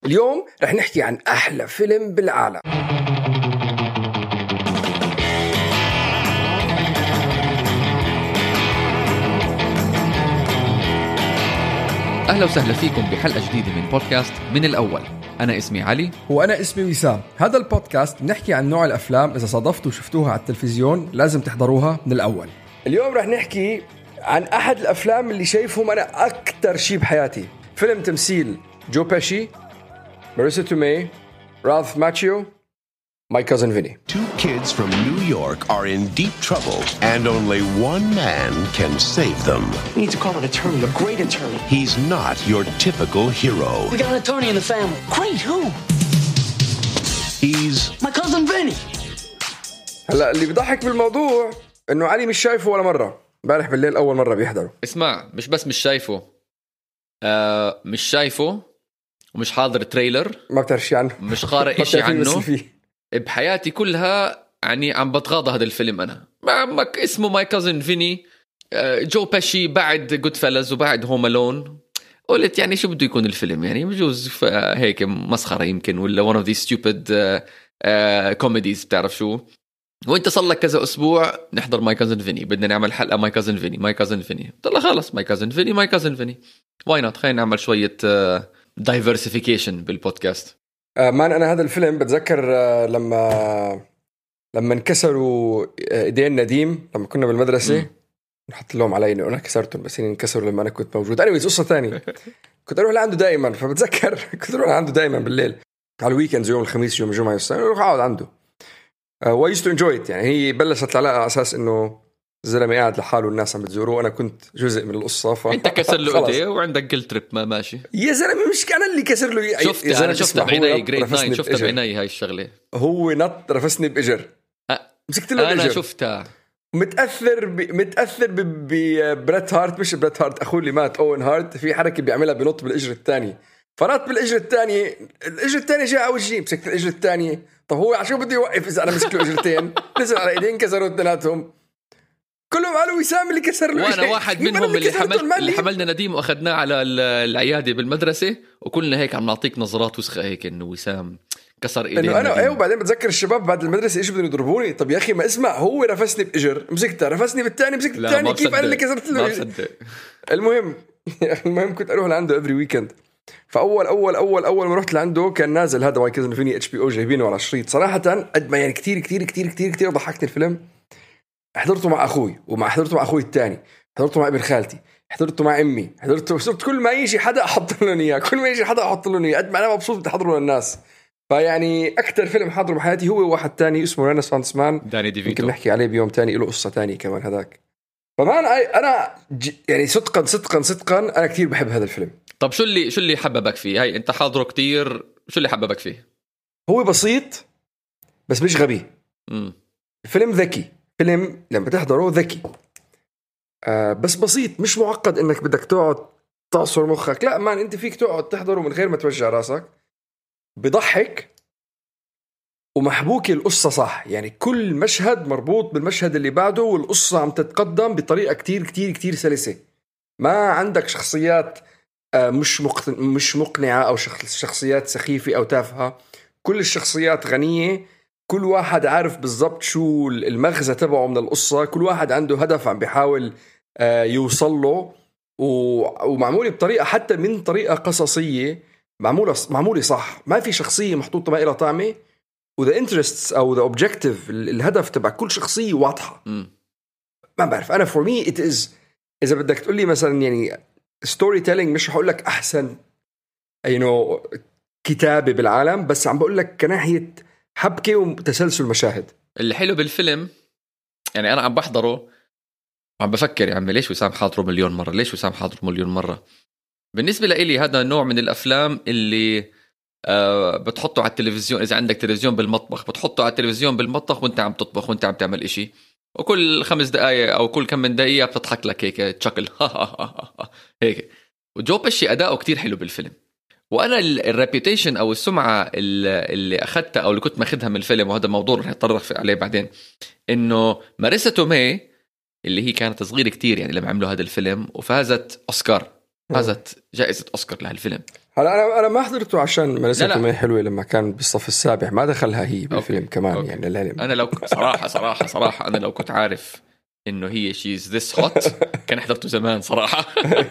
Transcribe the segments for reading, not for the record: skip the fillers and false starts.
اليوم رح نحكي عن أحلى فيلم بالعالم. أهلا وسهلا فيكم بحلقة جديدة من بودكاست من الأول. أنا اسمي علي وأنا اسمي وسام. هذا البودكاست نحكي عن نوع الأفلام إذا صادفتوا وشفتوها على التلفزيون لازم تحضروها من الأول. اليوم رح نحكي عن أحد الأفلام اللي شايفهم أنا أكتر شيء بحياتي. فيلم تمثيل جو بيشي، ماريسا تومي، راث ماتشيو، My Cousin Vinny. Two kids from New York are in deep trouble, and only one man can save them. We need to call an attorney, a great attorney. He's not your typical hero. We got an attorney in the family. Great, who? He's My cousin Vinny. هلا اللي بيضحك بالموضوع إنه علي مش شايفه ولا مرة. امبارح بالليل أول مرة بيحضره. اسمع، مش بس مش شايفه، مش شايفه ومش حاضر تريلر، ما بتعرف شيء عنه، مش قارئ إشي عنه فيه. بحياتي كلها. يعني عم بتغاضى هذا الفيلم. أنا عمك اسمه ماي كازن فيني، جو بيشي بعد جود فيلز وبعد هوم ألون. قلت يعني شو بده يكون الفيلم؟ يعني بجوز هيك مسخرة يمكن، ولا one of these stupid comedies بتعرف شو. وانت صار لك كذا اسبوع نحضر ماي كازن فيني، بدنا نعمل حلقة ماي كازن فيني ماي كازن فيني. طلع خلص ماي كازن فيني ماي كازن فيني، واي نوت؟ خلينا نعمل شوية diversification بالبودكاست. مان أنا هذا الفيلم بتذكر لما انكسروا ايدين نديم لما كنا بالمدرسة. نحط لهم علي انه انا كسرتهم، بس انكسروا لما انا كنت موجود. اني قصة ثانية كنت اروح لعنده دائما، فبتذكر كنت اروح لعنده دائما بالليل على الويكندز، يوم الخميس يوم الجمعة اروح اقعد عنده. و used to enjoy it. يعني هي بلشت العلاقة على اساس انه الزلمة قاعد لحاله والناس عم بتزوروه، وانا كنت جزء من القصة. انت كسر له ايديه وعندك جلد تريب ما ماشي يا زلمة، مش كان اللي كسر له. انا شفتها بعيني جريد 9، شفتها بعيني هاي الشغلة. هو نط رفسني بإجر، مسكت له انا الإجر. شفتها. متأثر ببريت هارت، مش بريت هارت أخوه اللي مات، أوين هارت. في حركة بيعملها بنط بالإجر الثاني، فرط بالإجر الثاني، الإجر الثاني جاء على وجهي، مسكت الإجر الثاني. طب هو عشان بده يوقف إذا أنا مسك له إجرتين؟ نزل على إيدين كسروا اثنيناتهم، كلهم قالوا وسام اللي كسر له. وانا واحد منهم اللي حملنا نديم واخذناه على العياده بالمدرسه، وكلنا هيك عم نعطيك نظرات وسخه هيك انه وسام كسر ايدين. انه انا وبعدين بتذكر الشباب بعد المدرسه ايش بدهم يضربوني. طب يا اخي ما اسمع، هو رفسني باجر، مسكته رفسني بالثاني، مسكت الثاني، كيف انا اللي كسرت له؟ المهم كنت اروح لعنده افري ويكند. فاول اول اول اول ما رحت لعنده كان نازل هذا ماي كازن فيني HBO، جايبينه على شريط. صراحه قد ما يعني كتير كتير كتير كتير كتير ضحكني الفيلم. حضرته مع اخوي، حضرته مع اخوي الثاني، حضرته مع ابن خالتي، حضرته مع امي، صرت كل ما يجي حدا احط له اياه، كل ما يجي حدا احط له اياه. قد ما انا مبسوط بدي احضره للناس. فيعني اكثر فيلم حضره بحياتي هو واحد تاني اسمه رينيسانس مان، داني ديفيتو. يمكن نحكي عليه بيوم تاني، له قصه تانية كمان هذاك. فمان انا يعني صدقا انا كتير بحب هذا الفيلم. طب شو اللي حببك فيه؟ هاي انت حاضره كتير، شو اللي حببك فيه؟ هو بسيط بس مش غبي. الفيلم ذكي، فيلم لما تحضره ذكي، بس بسيط، مش معقد انك بدك تقعد تعصر مخك. لا مان، انت فيك تقعد تحضره من غير ما توجع راسك. بضحك ومحبوكة القصة صح، يعني كل مشهد مربوط بالمشهد اللي بعده، والقصة عم تتقدم بطريقة كتير كتير كتير سلسة. ما عندك شخصيات مش مقنعة أو شخصيات سخيفة أو تافهة. كل الشخصيات غنية، كل واحد عارف بالضبط شو المغزى تبعه من القصة، كل واحد عنده هدف عم بيحاول يوصل له، ومعمولة بطريقة حتى من طريقة قصصية معمولة صح. ما في شخصية محطوطة ما إلها طعمة، وذا interests أو ذا objective، الهدف تبع كل شخصية واضحة. ما بعرف أنا for me it is، إذا بدك تقول لي مثلا يعني story telling، مش هقول لك أحسن كتابة بالعالم، بس عم بقول لك كناحية حبكة وتسلسل مشاهد. اللي حلو بالفيلم يعني أنا عم بحضره وعم بفكر يا عمي ليش وسام حاضره مليون مرة، ليش وسام حاضره مليون مرة. بالنسبة لإلي هذا النوع من الأفلام اللي بتحطه على التلفزيون. إذا عندك تلفزيون بالمطبخ بتحطه على التلفزيون بالمطبخ وانت عم تطبخ وانت عم تعمل إشي، وكل 5 دقايق أو كل كم من دقيقة بتضحك لك هيك تشكل هيك. وجو بيشي أداؤه كتير حلو بالفيلم. وأنا الريبيوتيشن أو السمعة اللي أخذتها أو اللي كنت ماخذها من الفيلم، وهذا موضوع رح نتطرق عليه بعدين، إنه ماريسا تومي اللي هي كانت صغيرة كتير يعني لما عملوا هذا الفيلم وفازت أوسكار فازت جائزة أوسكار لهالفيلم. هلا انا ما حضرته عشان لا. ملسته ما حلوه لما كان بالصف السابع، ما دخلها هي بالفيلم أوكي. كمان أوكي. يعني العلم. أنا لو صراحة أنا لو كنت عارف إنه هي she's this hot كان حضرته زمان صراحة.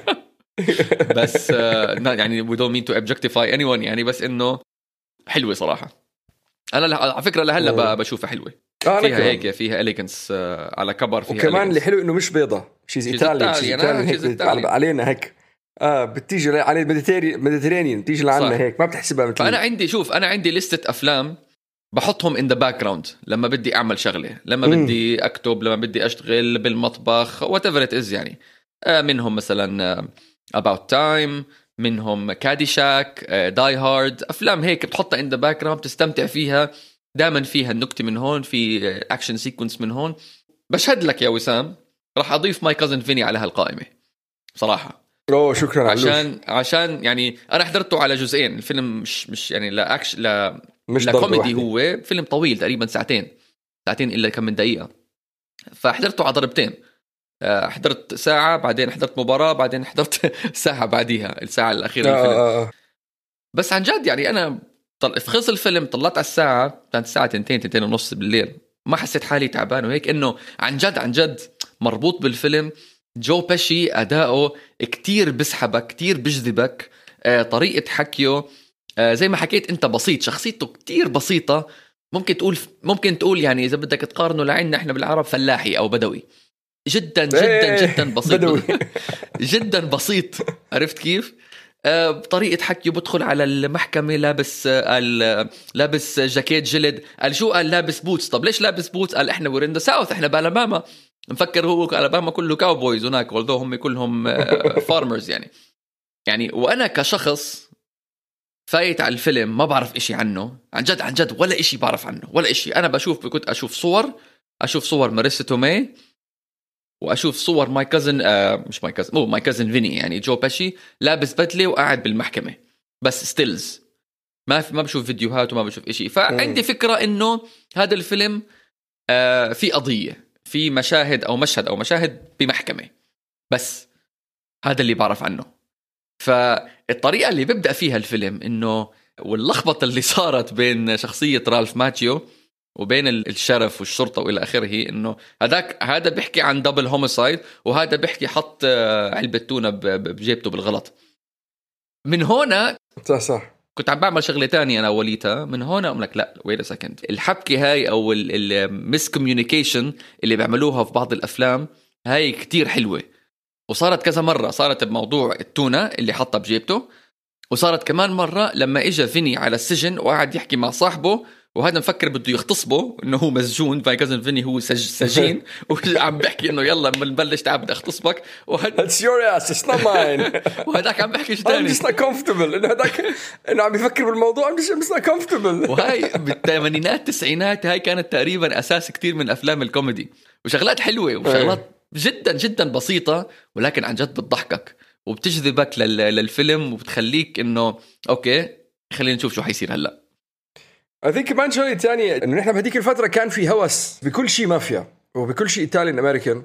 بس يعني we don't mean to objectify anyone يعني، بس إنه حلوة صراحة. أنا على فكرة لهلا بشوفها حلوة. فيها هيك فيها إليجنس على كبر فيها. وكمان اللي حلو إنه مش بيضة، شيء إيطالي علينا هيك. بتيجي على الميديترينيان بتيجي لعنا هيك، ما بتحسبها مثل. فأنا عندي لستة أفلام بحطهم in the background لما بدي أعمل شغلة، لما بدي أكتب، لما بدي أشتغل بالمطبخ whatever it is يعني. منهم مثلا About Time، منهم كاديشاك، Die Hard، أفلام هيك بتحطها in the background تستمتع فيها. دائما فيها النكتة من هون، في أكشن سيكونس من هون. بشهد لك يا وسام راح أضيف ماي كازن فيني على هالقائمة صراحة. شكرا. عشان يعني أنا حضرته على جزئين. الفيلم مش يعني لا أكشن لا كوميدي، هو فيلم طويل تقريبا ساعتين إلا كم من دقيقة. فحضرته على ضربتين، حضرت ساعة بعدين حضرت مباراة بعدين حضرت ساعة بعديها الساعة الأخيرة الفيلم. بس عن جد يعني أنا خلص الفيلم طلعت على الساعة، كانت الساعة 2:30 بالليل، ما حسيت حالي تعبان وهيك، إنه عن جد مربوط بالفيلم. جو باشي أداؤه كتير بسحبك، كتير بجذبك. طريقة حكيه زي ما حكيت أنت بسيط، شخصيته كتير بسيطة. ممكن تقول يعني إذا بدك تقارنه لعنا إحنا بالعرب فلاحي أو بدوي. جدا بسيط. جدا بسيط. عرفت كيف؟ بطريقة حكيه بدخل على المحكمة لابس جاكيت جلد. قال شو؟ قال لابس بوتس. طب ليش لابس بوتس؟ قال احنا وير ان ذا ساوث، احنا بالاباما. مفكر هو الاباما كله كاوبويز هناك، والذو هم كلهم فارمرز يعني. وانا كشخص فايت على الفيلم ما بعرف اشي عنه، عن جد ولا اشي بعرف عنه ولا اشي. انا كنت اشوف صور ماريسا تومي، واشوف صور ماي كازن فيني يعني جو باشي لابس بدله وقاعد بالمحكمه، بس ستيلز ما بشوف فيديوهات وما بشوف إشي. فعندي فكره انه هذا الفيلم في قضيه، في مشاهد بمحكمه، بس هذا اللي بعرف عنه. فالطريقه اللي ببدا فيها الفيلم انه واللخبطه اللي صارت بين شخصيه رالف ماتيو وبين الشرف والشرطة وإلى آخره، إنه هذا بيحكي عن دبل هوميسايد، وهذا بيحكي حط علبة تونة بجيبته بالغلط. من هنا صح كنت عم بعمل شغلة تانية أنا وليتها. من هنا أقول لك لا wait a second، الحبكة هاي أو المسكوميونيكيشن اللي بيعملوها في بعض الأفلام هاي كتير حلوة، وصارت كذا مرة. صارت بموضوع التونة اللي حطها بجيبته، وصارت كمان مرة لما إجا فيني على السجن وقاعد يحكي مع صاحبه، وهذا مفكر بده يغتصبه انه هو مسجون، فاي كازن فيني هو سجين وعم بحكي انه يلا بنبلش تعال بدي اغتصبك، It's your ass it's not mine. وهذاك عم بحكي شيء ثاني. I'm just not comfortable. انه هذاك انه عم يفكر بالموضوع I'm just not comfortable. وهاي بالثمانينات التسعينات هاي كانت تقريبا اساس كتير من افلام الكوميدي، وشغلات حلوه وشغلات جدا بسيطه، ولكن عن جد بتضحكك وبتجذبك للفيلم وبتخليك انه اوكي خلينا نشوف شو حيصير هلا. I think كمان شغلة تانية إنه نحن بهديك الفترة كان في هوس بكل شيء مافيا وبكل شيء إيطالي أمريكان.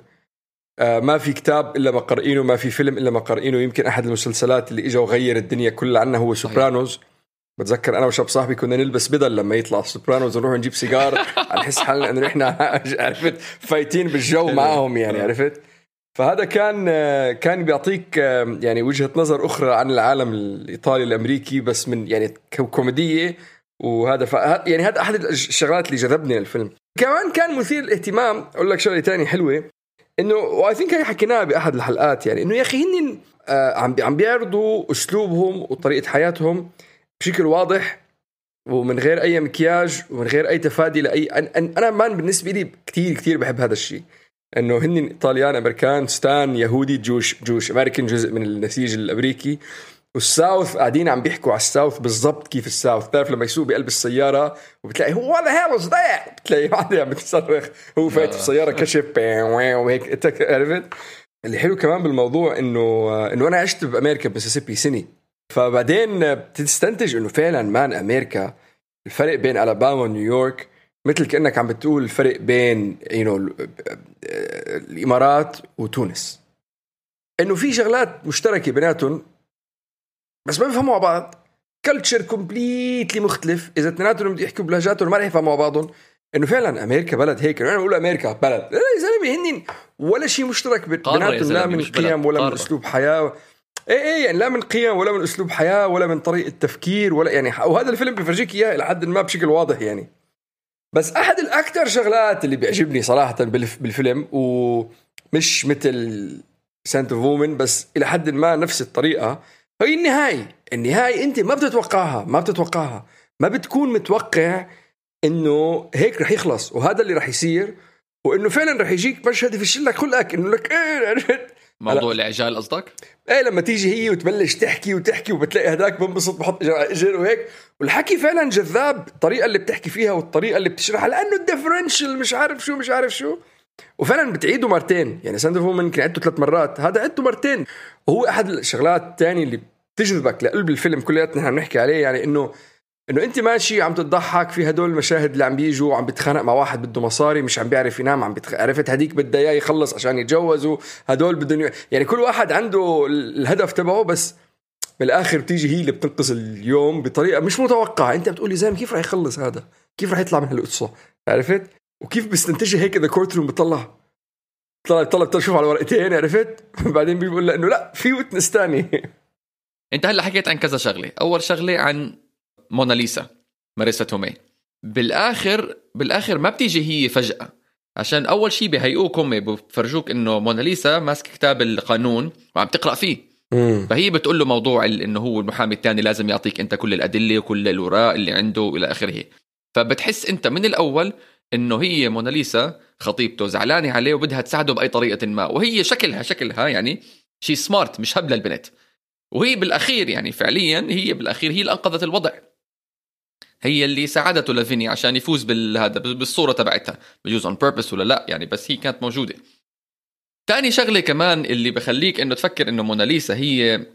ما في كتاب إلا ما قرئينه، ما في فيلم إلا ما قرئينه. يمكن أحد المسلسلات اللي إجا وغير الدنيا كلها عنا هو سوبرانوز. بتذكر أنا وشاب صاحبي كنا نلبس بدل لما يطلع سوبرانوز ونروح نجيب سيجار نحس حالنا إنه إحنا عرفت فايتين بالجو معهم يعني عرفت. فهذا كان بيعطيك يعني وجهة نظر أخرى عن العالم الإيطالي الأمريكي، بس من يعني كوميدية. وهذا يعني هذا أحد الشغلات اللي جذبني للفيلم. كمان كان مثير الاهتمام. أقول لك شغلة تانية حلوة، إنه وآي ثينك هي حكيناها بأحد الحلقات، يعني إنه يا أخي هن عم بيعرضوا أسلوبهم وطريقة حياتهم بشكل واضح ومن غير أي مكياج ومن غير أي تفادي لأي. أنا بالنسبة لي كتير بحب هذا الشيء، إنه هن إيطاليان أمريكان ستان يهودي جوش أمريكان جزء من النسيج الأمريكي، والساوث قاعدين عم بيحكوا على الساوث بالضبط كيف الساوث. تعرف لما يسوق بقلب السيارة وبتلاقي هو what the hell is that، بتلاقي واحد عم بتصرخ هو فايت في السيارة كشف وهيك. عرفت اللي حلو كمان بالموضوع إنه أنا عشت بأمريكا بميسيسيبي سنة، فبعدين بتستنتج إنه فعلا مان أمريكا الفرق بين ألاباما ونيويورك مثل كأنك عم بتقول الفرق بين الإمارات وتونس، إنه في شغلات مشتركة بيناتهم بس ما بيفهموا على بعض، كلتشر كومبليتلي مختلف. اذا اثنيناتهم بدهم يحكوا بلهجاتهم ما رح يفهموا على بعضهم. انه فعلا امريكا بلد هيك، انا بقول امريكا بلد، لا يا زلمه هنن ولا شيء مشترك بيناتهم، لا من قيم ولا من اسلوب حياه. ايه يعني لا من قيم ولا من اسلوب حياه ولا من طريقه تفكير ولا يعني. وهذا الفيلم بيفرجيك اياه لحد ما بشكل واضح يعني. بس احد الاكثر شغلات اللي بيعجبني صراحه بالفيلم، ومش مثل سانت اوف وومن بس الى حد ما نفس الطريقه، هي النهاية انت ما بتتوقعها، ما بتكون متوقع انه هيك رح يخلص وهذا اللي رح يصير، وانه فعلا رح يجيك مشهد يفشل لك خلقك انه لك ايه موضوع العجال قصدك؟ ايه لما تيجي هي وتبلش تحكي وبتلاقي هداك بنبسط بحط اجر وهيك، والحكي فعلا جذاب، الطريقه اللي بتحكي فيها والطريقه اللي بتشرحها، لانه الديفرنشال مش عارف شو وفعلا بتعيده مرتين. يعني ساند اوف وومن كان عدته 3 مرات، هذا عدته مرتين. وهو احد الشغلات الثانيه اللي تجذبك لقلب الفيلم كلياتنا نحن بنحكي عليه، يعني انه انت ماشي عم تضحك في هدول المشاهد اللي عم بيجوا عم بيتخانق مع واحد بده مصاري مش عم بيعرف ينام، عرفت هديك بدها اياه يخلص عشان يتجوزوا، هدول بدهم يعني كل واحد عنده الهدف تبعه، بس بالاخر بتيجي هي اللي بتنقذ اليوم بطريقه مش متوقعه. انت بتقولي زين كيف راح يخلص هذا، كيف راح يطلع من هالقصه، عرفت؟ وكيف بيستنتجها هيك ذا كورت روم، بتطلع تشوف على ورقتين، عرفت؟ بعدين بيقول له انه لا في ويتنس ثاني. انت هلا حكيت عن كذا شغله، اول شغله عن موناليزا ماريسا تومي. بالاخر ما بتيجي هي فجأة، عشان اول شيء بهيئوكم بفرجوك انه موناليزا ماسك كتاب القانون وعم تقرأ فيه. فهي بتقول له موضوع انه هو المحامي الثاني لازم يعطيك انت كل الادله وكل الوراء اللي عنده الى اخره. فبتحس انت من الاول انه هي موناليزا خطيبته زعلانه عليه وبدها تساعده باي طريقه ما، وهي شكلها يعني شيء سمارت مش هبله البنت. وهي بالاخير يعني فعليا هي بالاخير هي اللي انقذت الوضع، هي اللي ساعدته لفيني عشان يفوز بالهذا بالصوره تبعتها، بجوز اون بيربس ولا لا يعني، بس هي كانت موجوده. تاني شغله كمان اللي بخليك انه تفكر انه موناليزا هي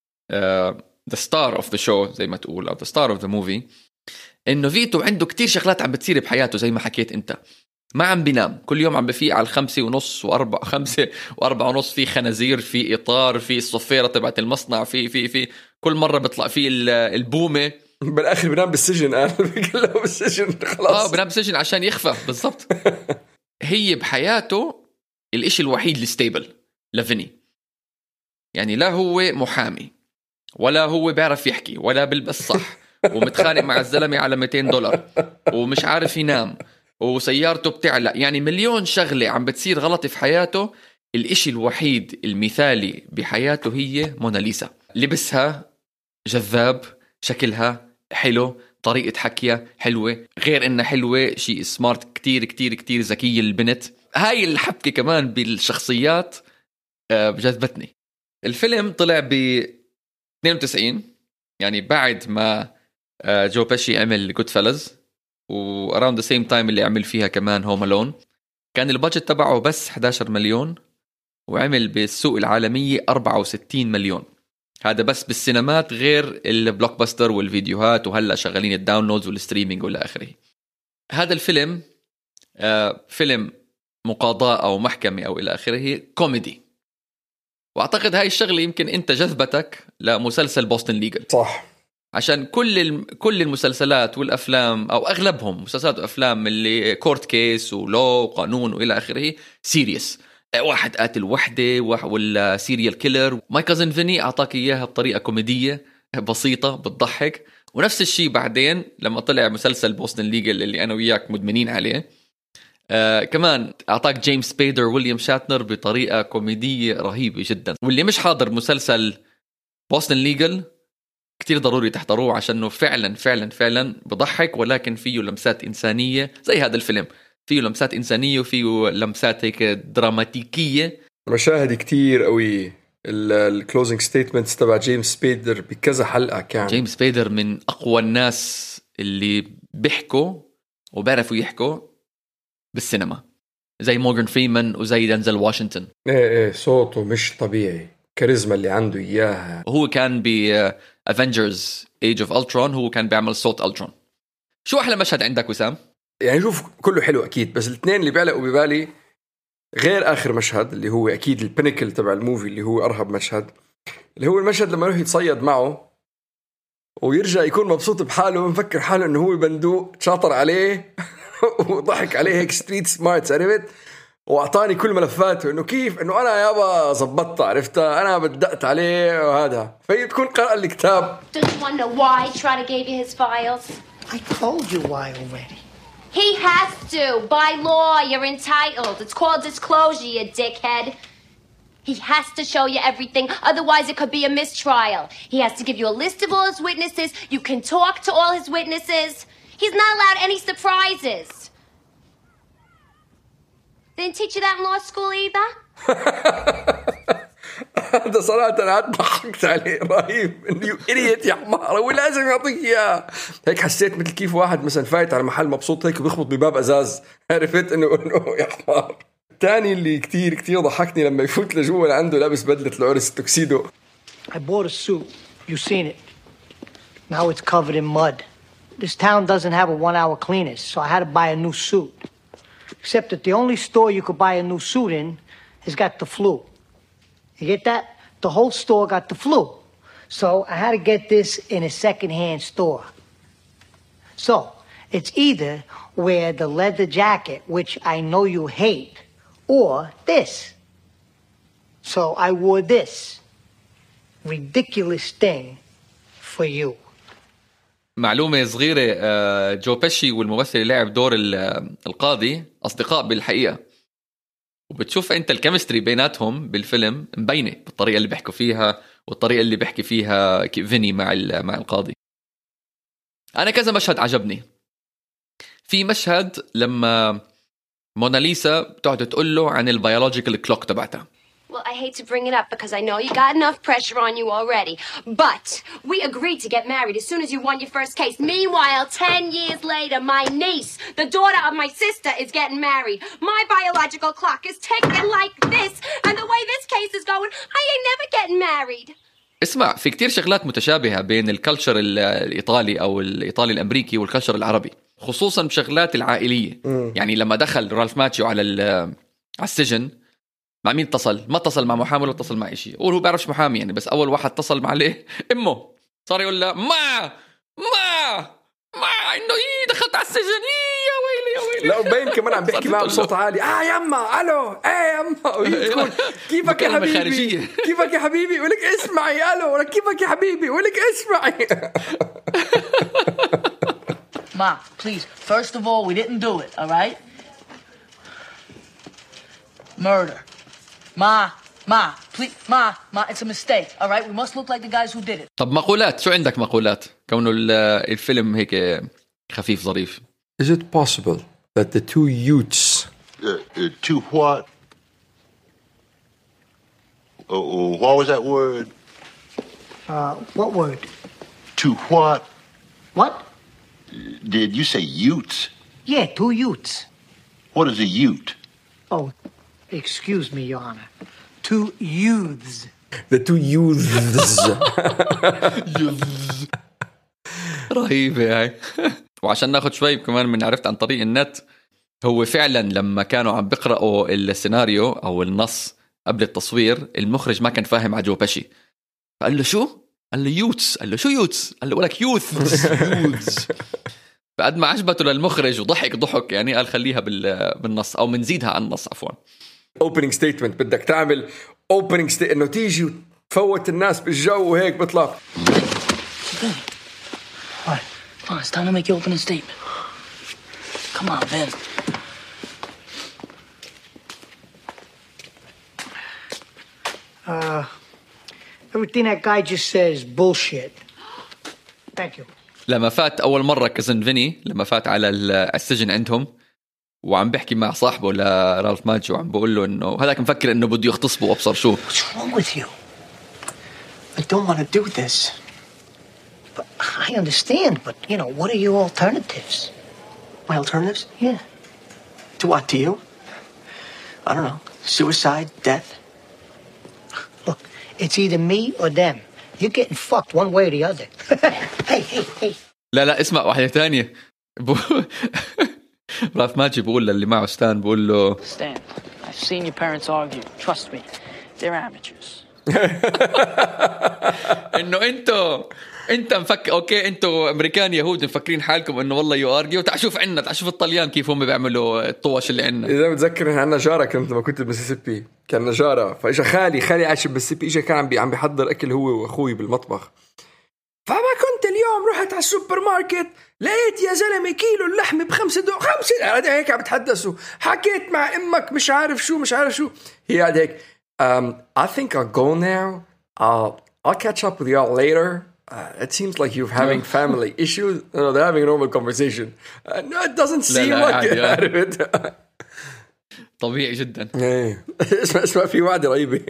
the star of the show زي ما تقول، او the star of the movie، انه فيتو عنده كتير شغلات عم بتصير بحياته زي ما حكيت انت. ما عم بينام، كل يوم عم بفيق على 5:30 و4:30 في خنازير، في اطار، في الصفيره تبعت المصنع، في كل مره بيطلع فيه البومه. بالاخر بنام بالسجن، قال بيقول له بالسجن خلاص، بنام بالسجن عشان يخفى بالضبط. هي بحياته الاشي الوحيد الستيبل لفيني، يعني لا هو محامي ولا هو بيعرف يحكي ولا بلبس صح ومتخانق مع الزلمه على $200 ومش عارف ينام وسيارته بتعلق، يعني مليون شغله عم بتصير غلط في حياته. الاشي الوحيد المثالي بحياته هي موناليزا، لبسها جذاب، شكلها حلو، طريقة حكيها حلوة، غير انها حلوة شيء سمارت، كتير كتير كتير ذكية البنت. هاي الحبكة كمان بالشخصيات جذبتني. الفيلم طلع ب 92، يعني بعد ما جو بيشي عمل جود فيلز، و around the same time اللي عمل فيها كمان هوم ألون. كان البادجت تبعه بس 11 مليون وعمل بالسوق العالمية 64 مليون. هذا بس بالسينمات، غير البلوك باستر والفيديوهات، وهلا شغالين الداونلودز والستريمينج والى اخره. هذا الفيلم فيلم مقاضاة او محكمة او الى اخره، كوميدي. واعتقد هاي الشغله يمكن انت جذبتك لمسلسل بوسطن ليجل، صح؟ عشان كل المسلسلات والافلام او اغلبهم مسلسلات وافلام اللي كورت كيس ولو وقانون والى اخره سيريس، واحد قاتل وحده ولا سيريال كيلر. ماي كازن فيني اعطاك اياها بطريقه كوميديه بسيطه بتضحك. ونفس الشيء بعدين لما طلع مسلسل بوسطن ليجل اللي انا وياك مدمنين عليه، كمان اعطاك جيمس سبيدر ويليام شاتنر بطريقه كوميديه رهيبه جدا. واللي مش حاضر مسلسل بوسطن ليجل كتير ضروري تحضروه، عشانه فعلا فعلا فعلا بضحك، ولكن فيه لمسات إنسانية زي هذا الفيلم، فيه لمسات إنسانية وفيه لمسات هيك دراماتيكية، مشاهد كتير قوي. الكلوزنج ستيتمنتس تبع جيمس سبيدر بكذا حلقة كان. جيمس سبيدر من أقوى الناس اللي بيحكوا وبيعرفوا يحكوا بالسينما، زي مورغان فريمان وزي دنزل واشنطن. ايه صوته مش طبيعي، كاريزما اللي عنده إياها. هو كان Avengers Age of Ultron، هو كان بيعمل صوت ألترون. شو أحلى مشهد عندك وسام؟ يعني شوف كله حلو أكيد، بس الاثنين اللي بيعلقوا ببالي غير آخر مشهد اللي هو أكيد البينيكل تبع الموفي، اللي هو أرهب مشهد، اللي هو المشهد لما يروح يتصيد معه ويرجع يكون مبسوط بحاله ومفكر حاله انه هو بندوق شاطر عليه وضحك عليه هيك ستريت سمارت عرفت، واعطاني كل ملفاته انه كيف انه انا يابا زبطت عرفتها انا بدأت عليه وهذا، فهي بتكون قرأ الكتاب. Does you want to know why Trotter gave you his files? I told you why already. He has to. By law, you're entitled. It's called disclosure, you dickhead. He has to show you everything, otherwise it could be a mistrial. He has to give you a list of all his witnesses. You can talk to all his witnesses. He's not allowed any surprises. They didn't teach you that in law school either? هذا صراحة أنا ضحكت عليه رهيب إنه يو إريت يا حمار ولازم يعطيك إياه. هيك حسيت مثل كيف واحد مثلا فايت على محل مبسوط هيك وبيخبط بباب أزاز عرفت إنه يا حمار. الثاني اللي كتير ضحكني لما يفوت لجوا اللي عنده لابس بدلة العرس التوكسيدو. I bought a suit. You've seen it. Now it's covered in mud. This town doesn't have a 1-hour cleaners, so I had to buy a new suit. Except that the only store you could buy a new suit in has got the flu. You get that? The whole store got the flu. So I had to get this in a second-hand store. So it's either wear the leather jacket, which I know you hate, or this. So I wore this ridiculous thing for you. معلومة صغيرة، جو بيشي والممثل اللي لعب دور القاضي أصدقاء بالحقيقة، وبتشوف أنت الكيمستري بيناتهم بالفيلم مبينة بالطريقة اللي بيحكوا فيها والطريقة اللي بيحكي فيها فيني مع القاضي. أنا كذا مشهد عجبني. في مشهد لما موناليسا بتقعد تقول له عن البيولوجيكال كلوك تبعتها. Well, I hate to bring it up because I know you got enough pressure on you already. But we agreed to get married as soon as you won your first case. Meanwhile, 10 years later, my niece, the daughter of my sister, is getting married. My biological clock is ticking like this. And the way this case is going, I ain't never getting married. اسمع، في كتير شغلات متشابهة بين الكالتشر الإيطالي أو الإيطالي الأمريكي والكالتشر العربي، خصوصا بشغلات العائلية. يعني لما دخل رالف ماتشيو على السجن، مع مين اتصل؟ ما اتصل مع محامي ولا اتصل مع إشي، هو بيعرفش محامي يعني، بس أول واحد اتصل مع ليه أمه، صار يقول له ما إنه دخلت على السجن، يا ويلي. لا وبين كمان عم بيحكي معه بصوت عالي، يما ألو يما، ويقول كيفك يا حبيبي، كيفك يا حبيبي، ولك اسمعي ألو، ولك كيفك يا حبيبي، ولك اسمعي. Ma, please, first of all, we didn't do it, all right? Murder. Ma, please, Ma, it's a mistake, all right? We must look like the guys who did it. طب مقولات، شو عندك مقولات؟ كونه الفيلم هيك خفيف ظريف. Is it possible that the two youths To what? What was that word? What word? To what? What? Did you say utes? Yeah, 2 youths. What is a ute? Oh, excuse me, Your Honor. 2 youths. the two youths. رهيبة هاي. وعشان ناخد شوي كمان من عرفت عن طريق النت، هو فعلا لما كانوا عم بقرأوا السيناريو أو النص قبل التصوير، المخرج ما كان فاهم على جو بيشي، فقال له شو؟ قال له يوتس. قال له شو يوتس؟ قال له ولك يوث. فقد ما عجبته للمخرج وضحك يعني، قال خليها بالنص أو منزيدها عن النص عفوا. opening statement، بدك تعمل opening statement إنه تيجي وتفوت الناس بالجو وهيك بطلع. All right, come on, it's time to make your opening statement. Come on, Ben. Everything that guy just says is bullshit. Thank you. لما فات أول مرة كزن فيني، لما فات على السجن عندهم وعم بحكي مع صاحبه لرالف ماتشيو وعم بقول له إنه هذاك مفكر إنه بده يغتصبه وأبصر شو. What's wrong with you? I don't want to do this. But I understand, but, you know, what are your alternatives? My alternatives? Yeah. To what, to you? I don't know. Suicide, death? Look, it's either me or them. You're getting fucked one way or the other. Hey. لا اسمع واحدة تانية. رالف ماتشيو بقول للي معه ستان، بقول له Stan, I've seen your parents argue. Trust me, they're amateurs. إنه انت مفكر اوكي انتوا امريكان يهود مفكرين حالكم انه والله يو ارجيو. تعال شوف عنا، تعال شوف الطليان كيف هم بيعملوا الطوش اللي عنا. اذا متذكر عندنا جاره كنت لما كنت بمسيسيبي كان جاره، فاجا خالي عايش بمسيسيبي، اجا كان عم بيحضر اكل هو واخوي بالمطبخ. فما كنت اليوم رحت على السوبر ماركت لقيت يا زلمه كيلو اللحمه ب5 $5. هيك عم بتحدثوا، حكيت مع امك مش عارف شو هي قاعد هيك. I think I'll go now. I'll catch up with y'all later. It seems like you're having family issues. No, they're having a normal conversation. No, it doesn't seem like it. طبيعي جدا. اسمع في وعد رهيبة.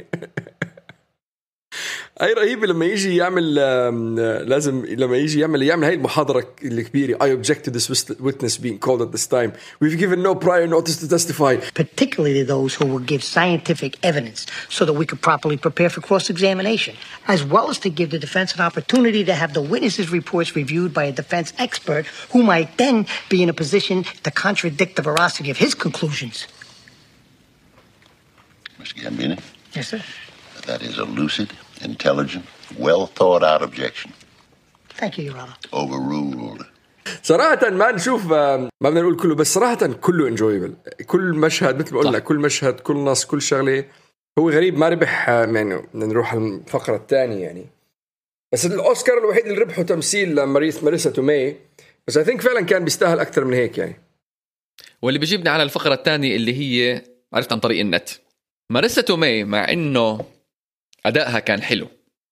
أي رهيبة لما يجي يعمل لما يجي يعمل هاي المحاضرة الكبيرة. I object to this witness being called at this time. We've given no prior notice to testify. Particularly those who will give scientific evidence so that we could properly prepare for cross-examination, as well as to give the defense an opportunity to have the witnesses' reports reviewed by a defense expert who might then be in a position to contradict the veracity of his conclusions. Mr. Gambini? Yes, sir. That is a lucid, intelligent, well-thought-out objection. Thank you, Your Honor. Overruled. صراحة ما نشوف، ما بدنا نقول كله، بس صراحة كله انجويبل. كل مشهد مثل ما قلنا، كل مشهد، كل نص، كل شغلة. هو غريب ما ربح، يعني نروح الفقرة الثانية يعني. بس الأوسكار الوحيد اللي ربحه تمثيل ماريسا تومي، بس I think فعلا كان بيستاهل أكثر من هيك يعني. واللي بيجيبنا على الفقرة الثانية اللي هي عرفت عن طريق النت. ماريسا تومي مع إنه أدائها كان حلو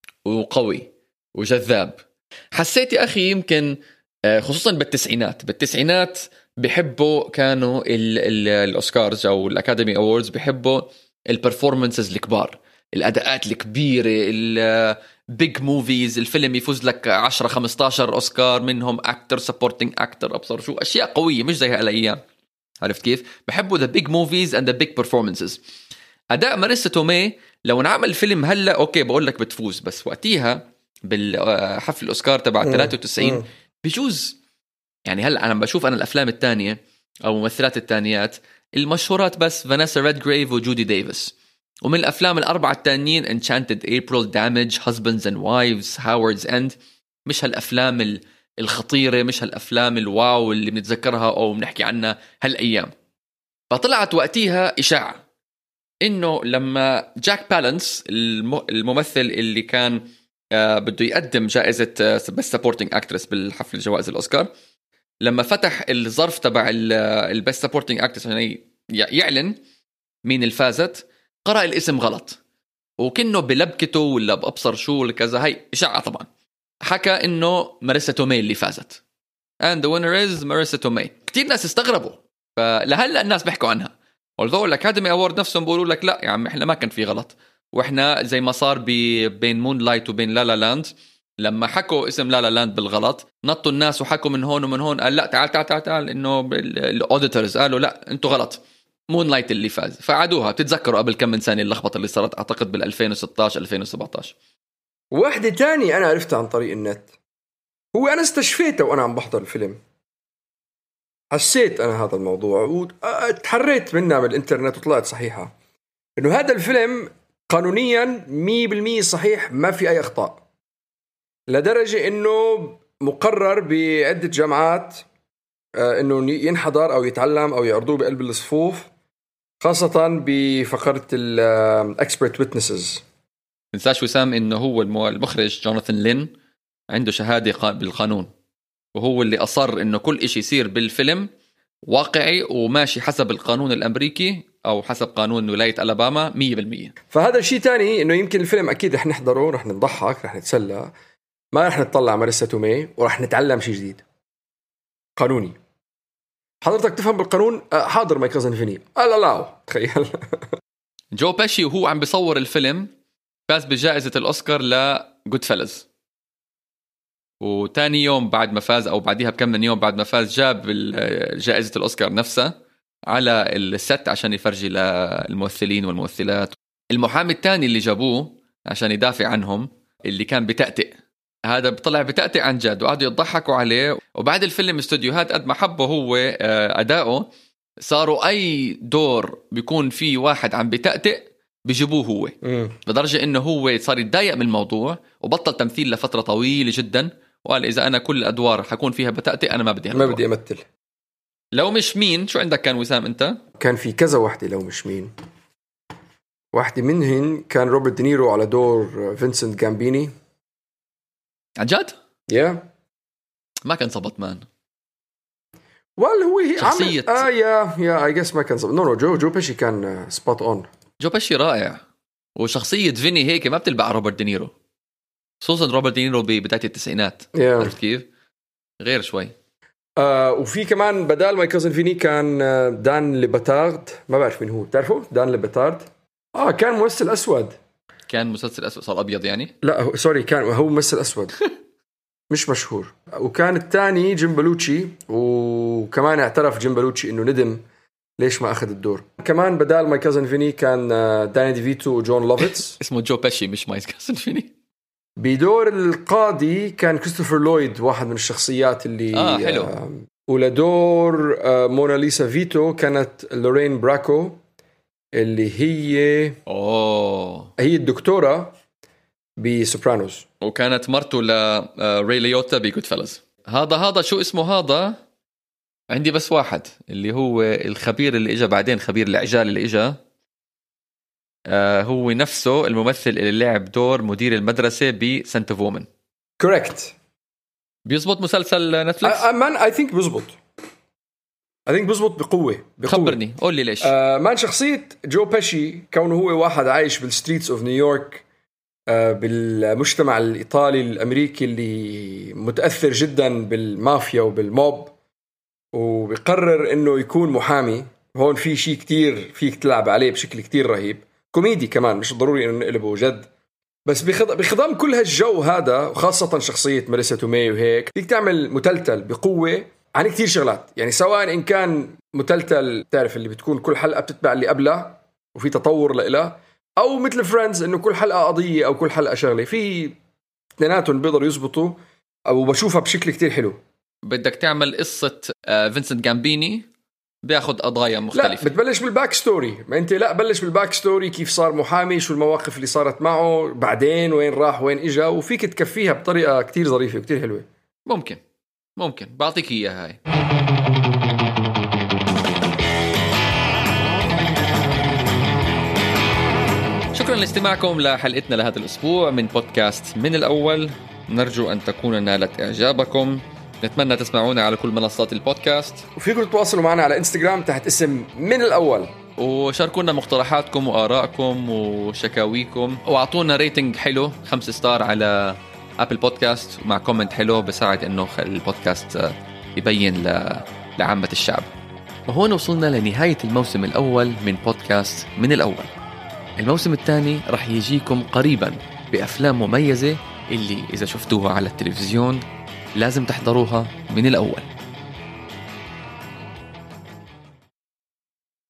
وقوي وجذاب، حسيت يا أخي يمكن خصوصا بالتسعينات بيحبوا كانوا الأوسكارز أو الأكاديمي أووردز بيحبوا البرفورمانسز الكبار، الأداءات الكبيرة، البيج موفيز، الفيلم يفوز لك 10-15 أوسكار منهم أكتر، سبورتينج أكتر، أبصر شو، أشياء قوية مش زي هالأيام. عرفت كيف؟ بحبوا the big movies and the big performances. أداء ماريسا تومي لو نعمل فيلم هلا أوكي بقول لك بتفوز، بس وقتيها بالحفل الأوسكار تبع 93 بيجوز يعني. هلا أنا بشوف أنا الأفلام التانية أو ممثلات التانيات المشهورات بس فانيسا ريدغريف وجودي ديفيس، ومن الأفلام الأربعة التانيين Enchanted April, Damage, Husbands and Wives, Howard's End. مش هالأفلام الخطيرة، مش هالأفلام الواو اللي بنتذكرها أو بنحكي عنها هالأيام. فطلعت وقتيها إشاعة إنه لما جاك بالانس الممثل اللي كان بده يقدم جائزة Best Supporting Actress بالحفل جوائز الأوسكار، لما فتح الظرف تبع Best Supporting Actress عشان يعلن مين الفازت، قرأ الاسم غلط وكأنه بلبكته ولا بأبصر شو ولا كذا. هاي إشاعة طبعا. حكى إنه ماريسا تومي اللي فازت and the winner is ماريسا تومي. كتير ناس استغربوا، فلهلا الناس بيحكوا عنها. although الأكاديمي أوورد نفسهم بيقولوا لك لا يا عم إحنا ما كان في غلط، وإحنا زي ما صار بين مون لايت وبين لا لا لاند، لما حكوا اسم لا لا لاند بالغلط نطوا الناس وحكوا من هون ومن هون، قال لا تعال إنه الأوديتورز قالوا لا أنتوا غلط، مون لايت اللي فاز. فعادوها. بتتذكروا قبل كم من سنة اللخبطة اللي صارت أعتقد بال2016-2017. واحدة تاني أنا عرفتها عن طريق النت، هو أنا استشفيته وأنا عم بحضر الفيلم، حسيت أنا هذا الموضوع وتحريت منها بالإنترنت وطلعت صحيحة، إنه هذا الفيلم قانونيا 100% صحيح، ما في أي أخطاء، لدرجة إنه مقرر بعدة جامعات إنه ينحضر أو يتعلم أو يعرضوه بقلب الصفوف، خاصة بفقرة الإكسبرت ويتنسز. منساش وسام إنه هو المخرج جوناثان لين عنده شهادة بالقانون، وهو اللي أصر إنه كل إشي يصير بالفيلم واقعي وماشي حسب القانون الأمريكي أو حسب قانون ولاية ألاباما 100%. فهذا الشيء تاني، إنه يمكن الفيلم أكيد رح نحضره، رح نضحك، رح نتسلى، ما رح نطلع ماريسا تومي، ورح نتعلم شيء جديد قانوني. حضرتك تفهم بالقانون؟ حاضر ماي كازن فيني. لا تخيل. جو باشي وهو عم بيصور الفيلم فاز بجائزة الأوسكار لجود فيلز، وتاني يوم بعد ما فاز أو بعديها بكم من يوم بعد ما فاز جاب جائزة الأوسكار نفسها على الست عشان يفرجي للممثلين والممثلات. المحامي التاني اللي جابوه عشان يدافع عنهم اللي كان بتأتئ، هذا طلع بتأتئ عن جد، وقعدوا يضحكوا عليه. وبعد الفيلم استوديوهات قد ما حبه هو أداؤه، صاروا أي دور بيكون فيه واحد عم بتأتئ بيجيبوه هو لدرجة إنه هو صار يتضايق من الموضوع وبطل تمثيل لفترة طويلة جدا، وقال إذا أنا كل الأدوار حكون فيها بتأتي أنا ما بدي أمثل. لو مش مين، شو عندك كان وسام أنت؟ كان في كذا واحدة لو مش مين. واحدة منهن كان روبرت دينيرو على دور فينسنت جامبيني. عن جد؟ ما كان صبط مان. هو شخصية I guess ما كان صبط. جو بيشي كان سبوت اون. جو بيشي رائع، وشخصية فيني هيك ما بتلبع روبرت دينيرو، خصوصا روبرت دينيرو ببداية التسعينات. عرفت كيف؟ غير شوي. وفي كمان بدال ماي كازن فيني كان دان ليباتارد. ما بعرف مين هو، بتعرفه دان ليباتارد؟ كان ممثل أسود. كان مسلسل أسود صار أبيض يعني؟ لا سوري، كان هو ممثل أسود مش مشهور. وكان الثاني جيم بلوتشي، وكمان اعترف جيم بلوتشي إنه ندم ليش ما أخذ الدور. كمان بدال ماي كازن فيني كان داني ديفيتو وجون لوفيتس. اسمه جو بيشي مش ماي كازن فيني. بدور القاضي كان كريستوفر لويد، واحد من الشخصيات اللي حلو. ولدور موناليسا فيتو كانت لورين براكو، اللي هي هي الدكتورة بسوبرانوس، وكانت مرته لري ليوتا بجود فيلز. هذا شو اسمه؟ هذا عندي بس واحد اللي هو الخبير اللي اجا بعدين، خبير العجال اللي اجا، هو نفسه الممثل اللي لعب دور مدير المدرسة بسنت اوف وومن. كوركت. بيزبط مسلسل نتفليكس؟ I think بيزبط بقوة. خبرني، قول لي ليش. مان شخصية جو بيشي كونه هو واحد عايش بالستريتس اوف نيويورك، بالمجتمع الإيطالي الأمريكي اللي متأثر جدا بالمافيا وبالموب، وبيقرر إنه يكون محامي. هون في شيء كتير فيك تلعب عليه بشكل كتير رهيب، كوميدي كمان، مش ضروري إنه نقلبه جد، بس بخضم كل هالجو هذا، وخاصة شخصية ماريسا تومي وهيك، فيك تعمل متلتل بقوة عن كتير شغلات. يعني سواء إن كان متلتل تعرف اللي بتكون كل حلقة بتتبع اللي قبلها وفي تطور لإلها، أو مثل فريندز إنه كل حلقة قضية أو كل حلقة شغلة، في اثنيناتهم بيقدروا يزبطوا، أو بشوفها بشكل كتير حلو. بدك تعمل قصة فينسنت جامبيني بياخد قضايا مختلفة. لا بتبلش بالباك ستوري، ما أنت لا بلش بالباك ستوري، كيف صار محامي، شو المواقف اللي صارت معه، بعدين وين راح وين إجا، وفيك تكفيها بطريقة كتير ظريفة وكتير حلوة. ممكن بعطيك إياها هاي. شكرا لاستماعكم لحلقتنا لهذا الأسبوع من بودكاست من الأول. نرجو أن تكون نالت إعجابكم. نتمنى تسمعونا على كل منصات البودكاست، وفيكم تتواصلوا معنا على انستغرام تحت اسم من الأول، وشاركونا مقترحاتكم وآرائكم وشكاويكم، وأعطونا ريتنج حلو 5 ستار على أبل بودكاست مع كومنت حلو، بساعد إنه البودكاست يبين لعامة الشعب. وهون وصلنا لنهاية الموسم الأول من بودكاست من الأول. الموسم الثاني رح يجيكم قريبا بأفلام مميزة اللي إذا شفتوها على التلفزيون لازم تحضروها من الأول.